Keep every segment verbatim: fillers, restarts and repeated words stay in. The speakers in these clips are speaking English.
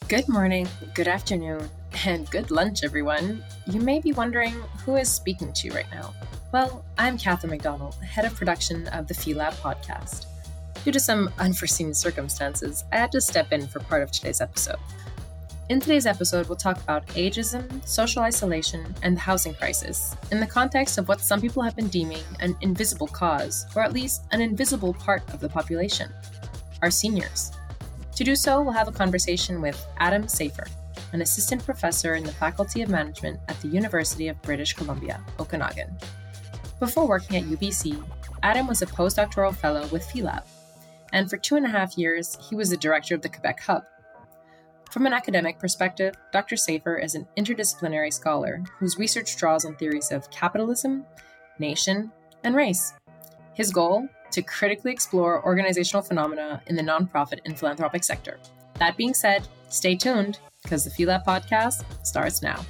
Good morning, good afternoon, and good lunch, everyone. You may be wondering who is speaking to you right now. Well, I'm Catherine McDonald, head of production of the PhiLab podcast. Due to some unforeseen circumstances, I had to step in for part of today's episode. In today's episode, we'll talk about ageism, social isolation, and the housing crisis in the context of what some people have been deeming an invisible cause, or at least an invisible part of the population, our seniors. To do so, we'll have a conversation with Adam Safer, an assistant professor in the Faculty of Management at the University of British Columbia, Okanagan. Before working at U B C, Adam was a postdoctoral fellow with PhiLab, and for two and a half years, he was the director of the Quebec Hub. From an academic perspective, Doctor Safer is an interdisciplinary scholar whose research draws on theories of capitalism, nation, and race. His goal? To critically explore organizational phenomena in the nonprofit and philanthropic sector. That being said, stay tuned, because the PhiLab podcast starts now.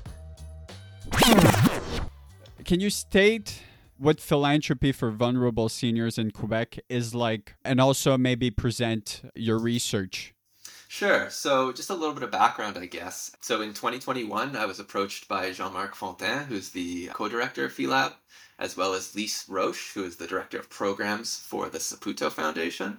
Can you state what philanthropy for vulnerable seniors in Quebec is like, and also maybe present your research? Sure. So just a little bit of background, I guess. So in twenty twenty-one, I was approached by Jean-Marc Fontaine, who's the co-director of PhiLab, as well as Lise Roche, who is the director of programs for the Saputo Foundation.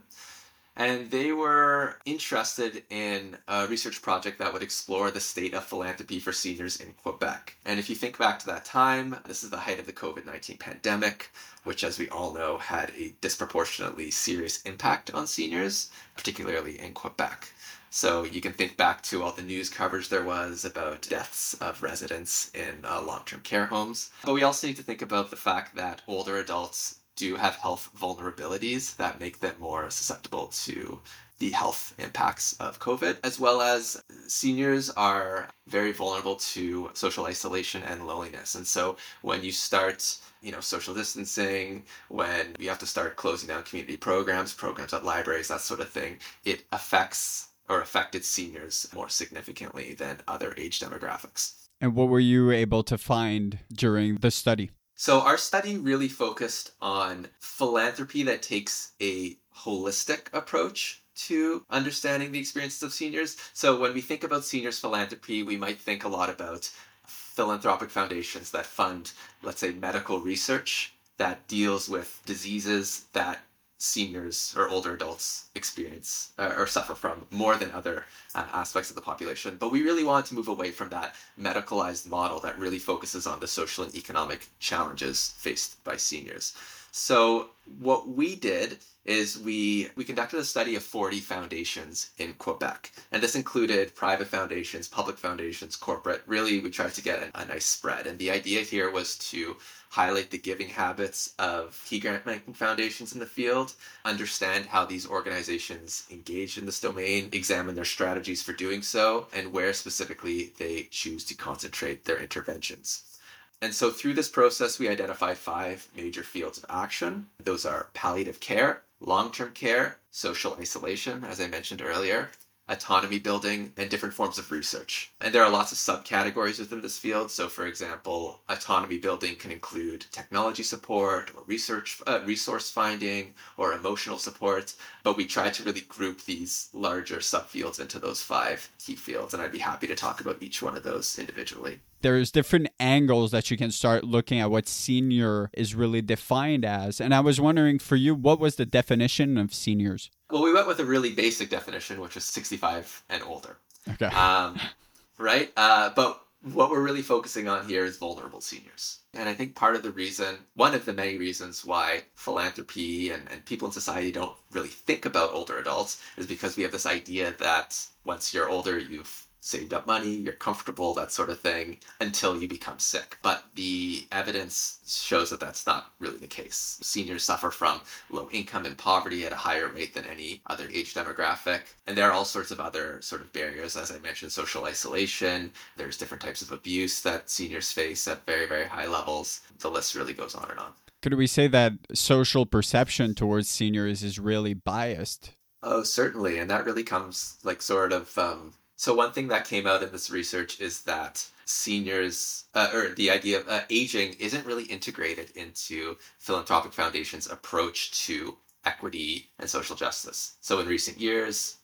And they were interested in a research project that would explore the state of philanthropy for seniors in Quebec. And if you think back to that time, this is the height of the covid nineteen pandemic, which, as we all know, had a disproportionately serious impact on seniors, particularly in Quebec. So you can think back to all the news coverage there was about deaths of residents in uh, long-term care homes. But we also need to think about the fact that older adults do have health vulnerabilities that make them more susceptible to the health impacts of COVID, as well as seniors are very vulnerable to social isolation and loneliness. And so when you start, you know, social distancing, when you have to start closing down community programs, programs at libraries, that sort of thing, it affects or affected seniors more significantly than other age demographics. And what were you able to find during the study? So our study really focused on philanthropy that takes a holistic approach to understanding the experiences of seniors. So when we think about seniors philanthropy, we might think a lot about philanthropic foundations that fund, let's say, medical research that deals with diseases that seniors or older adults experience uh, or suffer from more than other uh, aspects of the population. But we really wanted to move away from that medicalized model that really focuses on the social and economic challenges faced by seniors. So what we did is we we conducted a study of forty foundations in Quebec. And this included private foundations, public foundations, corporate. Really, we tried to get a, a nice spread. And the idea here was to highlight the giving habits of key grant-making foundations in the field, understand how these organizations engage in this domain, examine their strategies for doing so, and where specifically they choose to concentrate their interventions. And so through this process, we identified five major fields of action. Those are palliative care, long-term care, social isolation, as I mentioned earlier, autonomy building, and different forms of research. And there are lots of subcategories within this field. So for example, autonomy building can include technology support or research, uh, resource finding or emotional support. But we try to really group these larger subfields into those five key fields. And I'd be happy to talk about each one of those individually. There's different angles that you can start looking at what senior is really defined as. And I was wondering for you, what was the definition of seniors? Well, we went with a really basic definition, which is sixty-five and older. Okay. Um, right? Uh, but what we're really focusing on here is vulnerable seniors. And I think part of the reason, one of the many reasons why philanthropy and, and people in society don't really think about older adults is because we have this idea that once you're older, you've saved up money, you're comfortable, that sort of thing, until you become sick. But the evidence shows that that's not really the case. Seniors suffer from low income and poverty at a higher rate than any other age demographic. And there are all sorts of other sort of barriers, as I mentioned, social isolation. There's different types of abuse that seniors face at very, very high levels. The list really goes on and on. Could we say that social perception towards seniors is really biased? Oh, certainly. And that really comes like sort of... Um, So one thing that came out in this research is that seniors, uh, or the idea of uh, aging isn't really integrated into philanthropic foundations' approach to equity and social justice. So in recent years,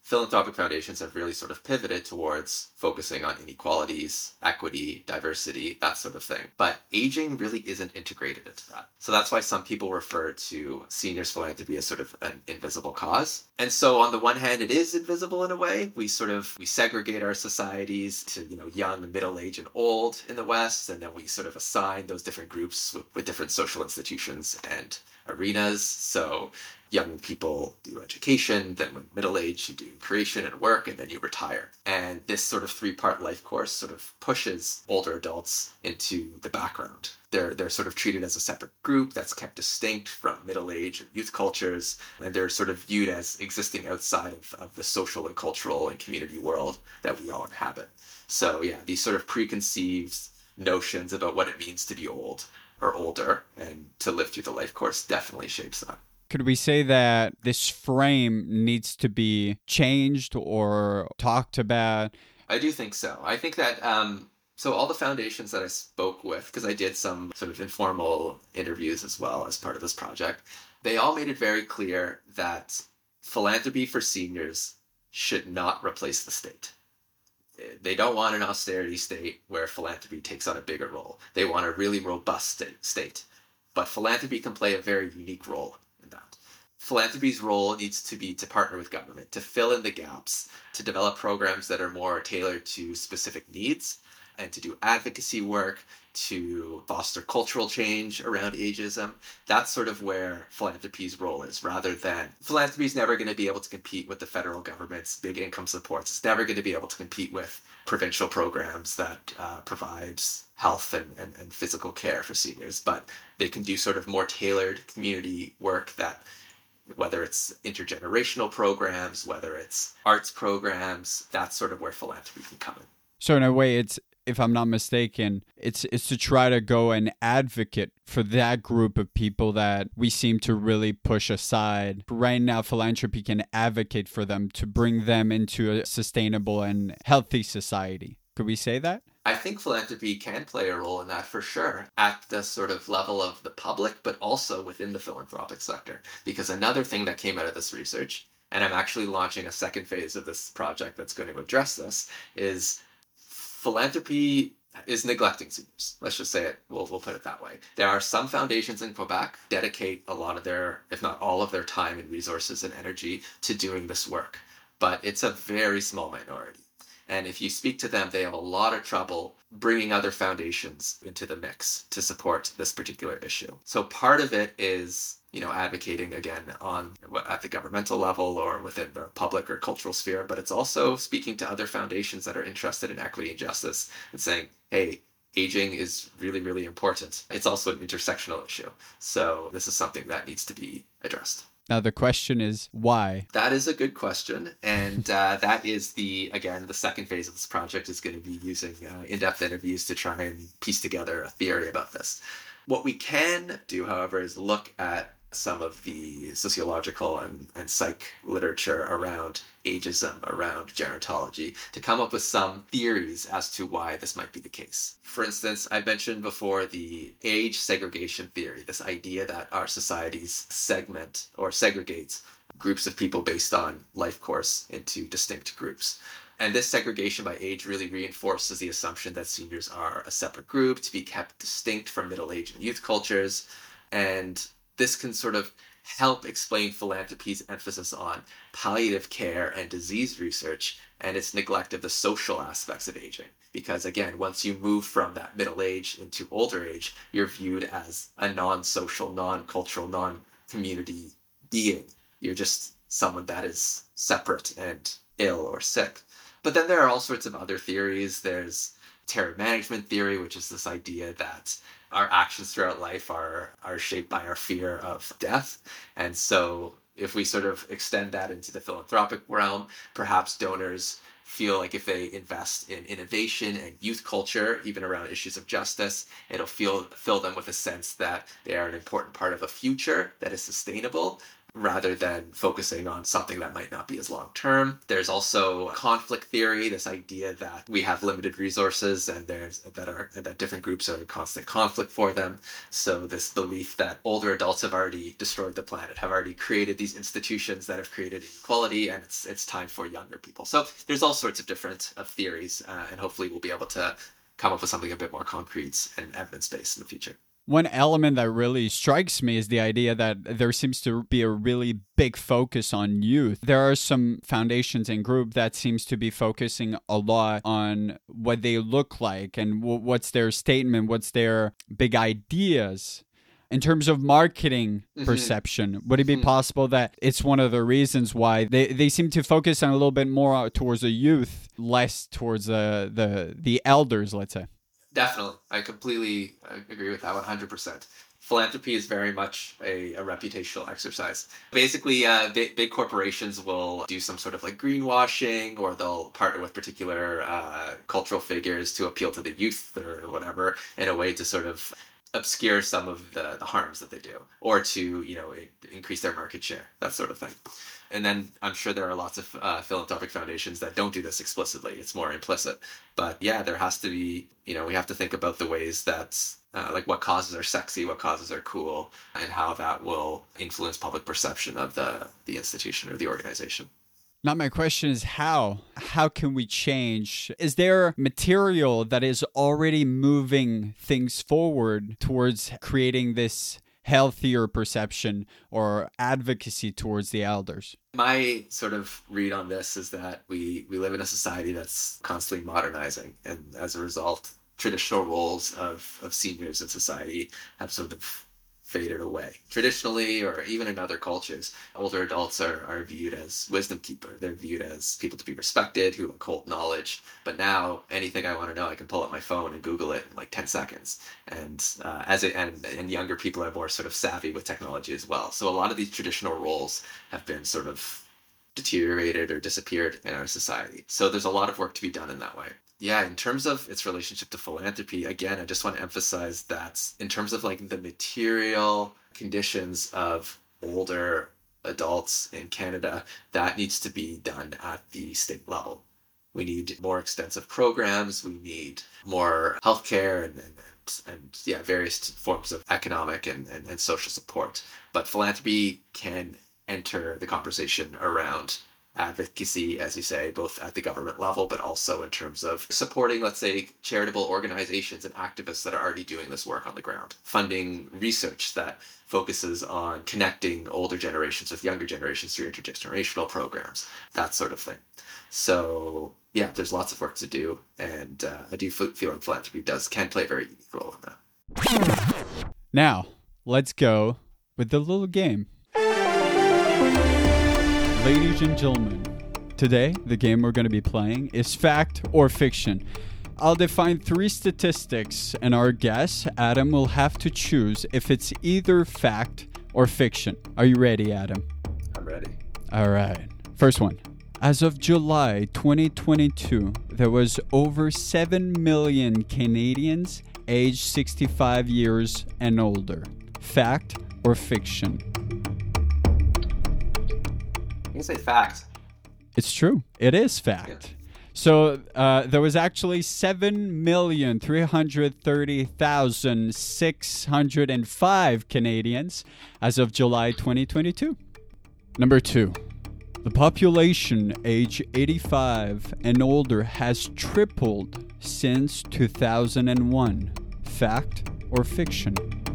philanthropic foundations have really sort of pivoted towards focusing on inequalities, equity, diversity, that sort of thing. But aging really isn't integrated into that. So that's why some people refer to seniors philanthropy as sort of an invisible cause. And so on the one hand, it is invisible in a way. We sort of, we segregate our societies to, you know, young, middle age, and old in the West. And then we sort of assign those different groups with, with different social institutions and arenas. So young people do education, then when middle age, you do creation and work, and then you retire. And this sort of three-part life course sort of pushes older adults into the background. They're they're sort of treated as a separate group that's kept distinct from middle age and youth cultures, and they're sort of viewed as existing outside of, of the social and cultural and community world that we all inhabit. So yeah, these sort of preconceived notions about what it means to be old or older and to live through the life course definitely shapes that. Could we say that this frame needs to be changed or talked about? I do think so. I think that, um, so all the foundations that I spoke with, because I did some sort of informal interviews as well as part of this project, they all made it very clear that philanthropy for seniors should not replace the state. They don't want an austerity state where philanthropy takes on a bigger role. They want a really robust state. But philanthropy can play a very unique role in that. Philanthropy's role needs to be to partner with government, to fill in the gaps, to develop programs that are more tailored to specific needs, and to do advocacy work, to foster cultural change around ageism. That's sort of where philanthropy's role is, rather than philanthropy is never going to be able to compete with the federal government's big income supports. It's never going to be able to compete with provincial programs that uh, provides health and, and, and physical care for seniors, but they can do sort of more tailored community work that, whether it's intergenerational programs, whether it's arts programs, that's sort of where philanthropy can come in. So in a way, it's, if I'm not mistaken, it's it's to try to go and advocate for that group of people that we seem to really push aside. Right now, philanthropy can advocate for them to bring them into a sustainable and healthy society. Could we say that? I think philanthropy can play a role in that for sure, at the sort of level of the public, but also within the philanthropic sector. Because another thing that came out of this research, and I'm actually launching a second phase of this project that's going to address this, is philanthropy is neglecting seniors. Let's just say it. We'll, we'll put it that way. There are some foundations in Quebec dedicate a lot of their, if not all of their time and resources and energy to doing this work. But it's a very small minority. And if you speak to them, they have a lot of trouble bringing other foundations into the mix to support this particular issue. So part of it is, you know, advocating again on at the governmental level or within the public or cultural sphere, but it's also speaking to other foundations that are interested in equity and justice and saying, hey, aging is really, really important. It's also an intersectional issue. So this is something that needs to be addressed. Now, the question is why? That is a good question. And uh, that is the, again, the second phase of this project is going to be using uh, in-depth interviews to try and piece together a theory about this. What we can do, however, is look at some of the sociological and, and psych literature around ageism, around gerontology, to come up with some theories as to why this might be the case. For instance, I mentioned before the age segregation theory, this idea that our societies segment or segregate groups of people based on life course into distinct groups. And this segregation by age really reinforces the assumption that seniors are a separate group to be kept distinct from middle age and youth cultures. And this can sort of help explain philanthropy's emphasis on palliative care and disease research and its neglect of the social aspects of aging. Because again, once you move from that middle age into older age, you're viewed as a non-social, non-cultural, non-community being. You're just someone that is separate and ill or sick. But then there are all sorts of other theories. There's terror management theory, which is this idea that our actions throughout life are are shaped by our fear of death. And so if we sort of extend that into the philanthropic realm, perhaps donors feel like if they invest in innovation and youth culture, even around issues of justice, it'll feel fill them with a sense that they are an important part of a future that is sustainable. rather than focusing on something that might not be as long term. There's also conflict theory, this idea that we have limited resources and there's that are that different groups are in constant conflict for them. So this belief that older adults have already destroyed the planet, have already created these institutions that have created inequality, and it's it's time for younger people. So there's all sorts of different uh, theories, uh, and hopefully we'll be able to come up with something a bit more concrete and evidence-based in the future. One element that really strikes me is the idea that there seems to be a really big focus on youth. There are some foundations and groups that seems to be focusing a lot on what they look like and w- what's their statement, what's their big ideas. In terms of marketing mm-hmm. perception, would it be mm-hmm. possible that it's one of the reasons why they, they seem to focus on a little bit more towards the youth, less towards the the, the elders, let's say? Definitely. I completely agree with that one hundred percent. Philanthropy is very much a, a reputational exercise. Basically, uh, big, big corporations will do some sort of like greenwashing, or they'll partner with particular uh, cultural figures to appeal to the youth or whatever in a way to sort of obscure some of the, the harms that they do, or to, you know, increase their market share, that sort of thing. And then I'm sure there are lots of uh, philanthropic foundations that don't do this explicitly. It's more implicit. But yeah, there has to be, you know, we have to think about the ways that, uh, like what causes are sexy, what causes are cool, and how that will influence public perception of the, the institution or the organization. Now, my question is how? How can we change? Is there material that is already moving things forward towards creating this healthier perception or advocacy towards the elders? My sort of read on this is that we, we live in a society that's constantly modernizing. And as a result, traditional roles of, of seniors in society have sort of faded away. Traditionally, or even in other cultures, older adults are, are viewed as wisdom keeper. They're viewed as people to be respected, who hold knowledge. But now, anything I want to know, I can pull up my phone and Google it in like ten seconds. And uh, as it, and, and younger people are more sort of savvy with technology as well. So a lot of these traditional roles have been sort of deteriorated or disappeared in our society. So there's a lot of work to be done in that way. Yeah, in terms of its relationship to philanthropy, again, I just want to emphasize that in terms of like the material conditions of older adults in Canada, that needs to be done at the state level. We need more extensive programs. We need more healthcare and, and, and yeah, various forms of economic and, and, and social support. But philanthropy can enter the conversation around advocacy, as you say, both at the government level, but also in terms of supporting, let's say, charitable organizations and activists that are already doing this work on the ground, funding research that focuses on connecting older generations with younger generations through intergenerational programs, that sort of thing. So yeah, there's lots of work to do, and uh, I do feel like philanthropy does can play a very unique role in that. Now, let's go with the little game. Ladies and gentlemen, today the game we're going to be playing is fact or fiction. I'll define three statistics, and our guest, Adam, will have to choose if it's either fact or fiction. Are you ready, Adam? I'm ready. All right. First one. As of July twenty twenty-two, there was over seven million Canadians aged sixty-five years and older. Fact or fiction? You can say fact. It's true. It is fact. Yeah. So uh, there was actually seven million three hundred thirty thousand six hundred five Canadians as of July twenty twenty-two. Number two. The population age eighty-five and older has tripled since two thousand one. Fact or fiction?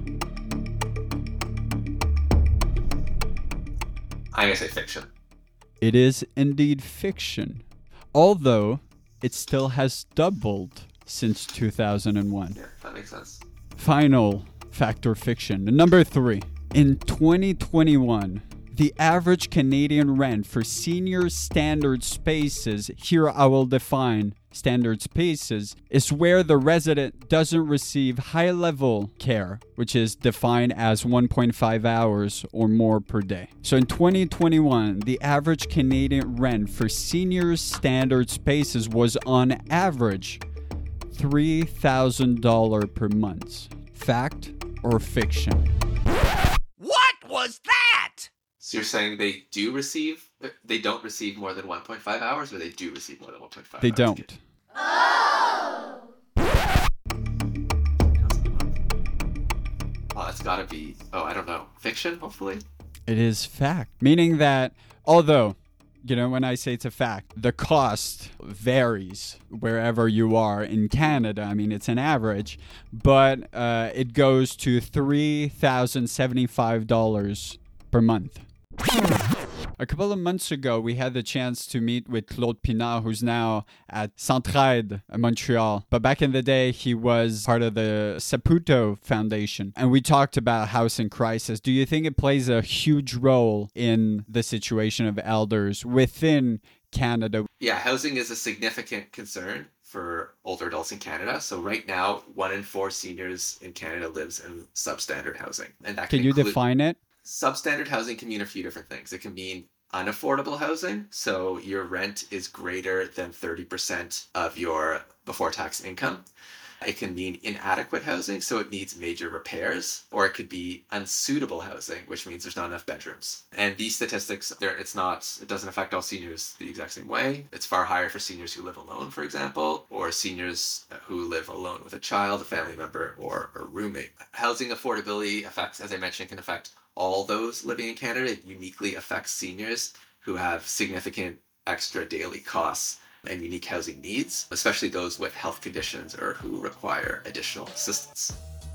I'm going to say fiction. It is indeed fiction, although it still has doubled since two thousand one. Yeah, that makes sense. Final fact or fiction. Number three. In twenty twenty-one, the average Canadian rent for senior standard spaces, here I will define standard spaces, is where the resident doesn't receive high-level care, which is defined as one point five hours or more per day. So in twenty twenty-one, the average Canadian rent for senior standard spaces was on average three thousand dollars per month. Fact or fiction? What was that? So you're saying they do receive, they don't receive more than one point five hours, or they do receive more than one point five They hours? don't. Oh! Oh, it's gotta be, oh, I don't know, fiction, hopefully? It is fact. Meaning that, although, you know, when I say it's a fact, the cost varies wherever you are in Canada. I mean, it's an average, but uh, it goes to three thousand seventy-five dollars per month. A couple of months ago, we had the chance to meet with Claude Pinard, who's now at Centraide, Montreal. But back in the day, he was part of the Saputo Foundation. And we talked about housing crisis. Do you think it plays a huge role in the situation of elders within Canada? Yeah, housing is a significant concern for older adults in Canada. So right now, one in four seniors in Canada lives in substandard housing. And that Can, can you include- define it? Substandard housing can mean a few different things. It can mean unaffordable housing. So your rent is greater than thirty percent of your before tax income. It can mean inadequate housing, so it needs major repairs, or it could be unsuitable housing, which means there's not enough bedrooms. And these statistics, it's not, it doesn't affect all seniors the exact same way. It's far higher for seniors who live alone, for example, or seniors who live alone with a child, a family member, or a roommate. Housing affordability affects, as I mentioned, can affect all those living in Canada. It uniquely affects seniors who have significant extra daily costs and unique housing needs, especially those with health conditions or who require additional assistance.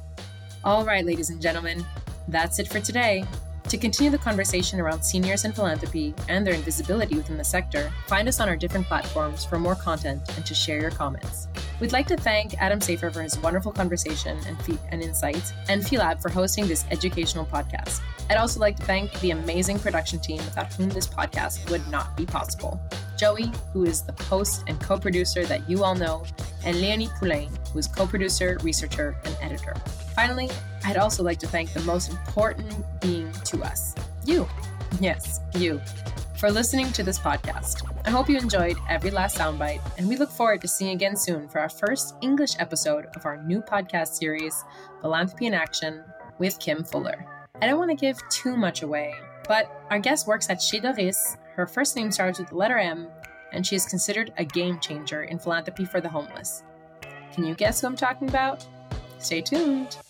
All right, ladies and gentlemen, that's it for today. To continue the conversation around seniors and philanthropy and their invisibility within the sector, find us on our different platforms for more content and to share your comments. We'd like to thank Adam Safer for his wonderful conversation and, fe- and insights, and Philab for hosting this educational podcast. I'd also like to thank the amazing production team without whom this podcast would not be possible. Joey, who is the host and co-producer that you all know, and Leonie Poulain, who is co-producer, researcher, and editor. Finally, I'd also like to thank the most important being to us, you. Yes, you, for listening to this podcast. I hope you enjoyed every last soundbite, and we look forward to seeing you again soon for our first English episode of our new podcast series, Philanthropy in Action, with Kim Fuller. I don't want to give too much away, but our guest works at Chez Doris. Her first name starts with the letter M, and she is considered a game changer in philanthropy for the homeless. Can you guess who I'm talking about? Stay tuned.